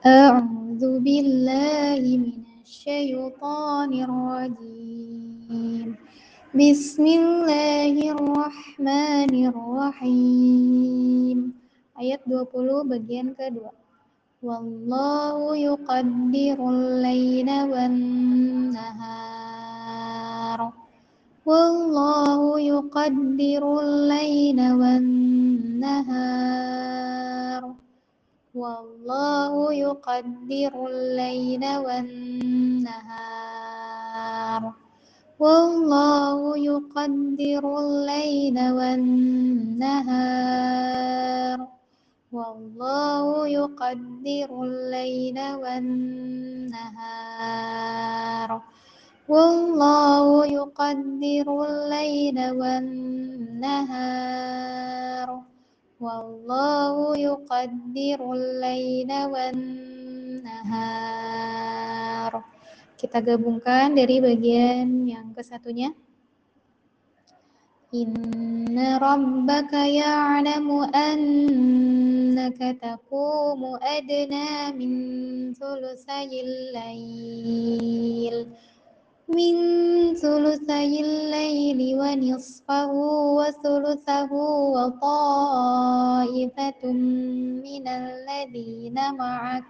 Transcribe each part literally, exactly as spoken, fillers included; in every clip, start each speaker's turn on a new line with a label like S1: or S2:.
S1: أعوذ بالله من الشيطان الرجيم بسم الله الرحمن الرحيم. Ayat dua puluh bagian kedua. Wallahu yuqaddirul laila wan nahar. Wallahu yuqaddirul laila wan nahar. Wallahu yuqaddirul laila wan nahar. Wallahu yuqaddirul laila wan nahar. Wallahu yuqaddirul laila wan nahar. Wallahu yuqaddirul laila wan nahar. Wallahu yuqaddirul laila wan nahar. Kita gabungkan dari bagian yang kesatunya. Inna rabbaka ya'lamu annaka taqumu adna min thulusayil lail min thulusayil laili wa nisfahu wa thuluthahu wa ta'ifatum minal ladhina ma'ak.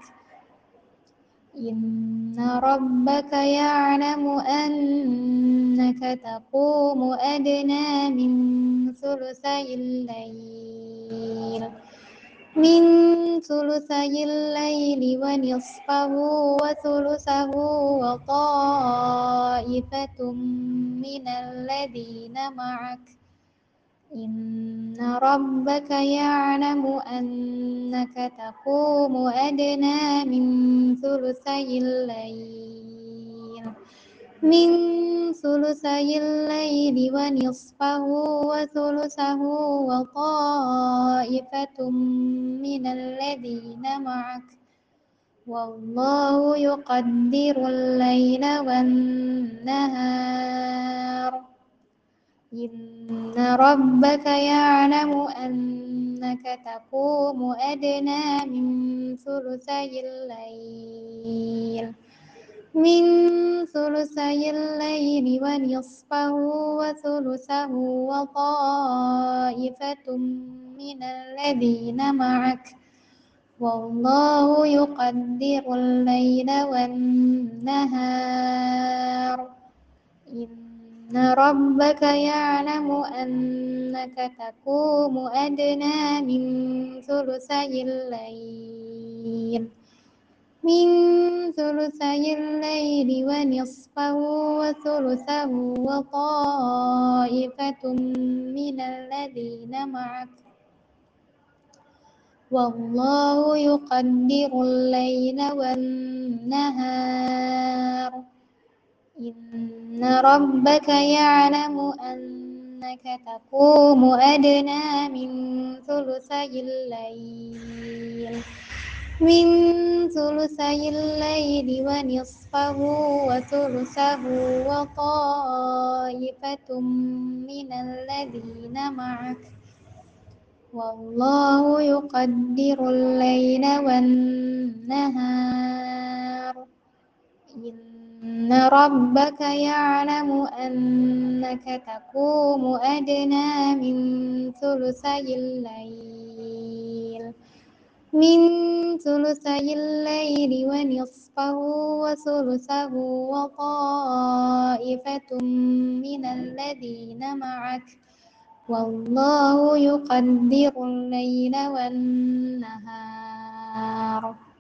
S1: Inna rabbaka ya'lamu annaka taqumu adna min thulusayil lail min thulusayil laili wa nisfahu wa thuluthahu wa ta'ifatum minal ladhina ma'ak. Inna rabbaka ya'lamu annaka taqumu adna min thulusayil lail min thulusayil laili wa nisfahu wa thuluthahu wa ta'ifatum minal ladhina ma'ak. Wallahu yuqaddirul laila wan nahar. Inna rabbaka ya'lamu annaka taqumu adna min thulusayil lail min thulusayil laili wa nisfahu wa thuluthahu wa ta'ifatum minal ladhina ma'ak. Wallahu yuqaddirul laila wan nahar. Inna rabbaka ya'lamu annaka taqumu adna min thulusayil lail min thulusayil laili wa nisfahu wa thuluthahu wa ta'ifatum minal ladhina ma'ak. Wallahu yuqaddirul laila wan nahar. Inna rabbaka ya'lamu annaka taqumu adna min thulusayil lail min thulusayil laili wa nisfahu wa thuluthahu wa ta'ifatum minal ladhina ma'ak. Wallahu yuqaddirul laila wan nahar. Inna rabbaka ya'lamu annaka taqumu adna min thulusayil lail min thulusayil laili wa nisfahu wa thuluthahu wa ta'ifatum minal ladhina ma'ak. Wallahu yuqaddirul laila wan nahar.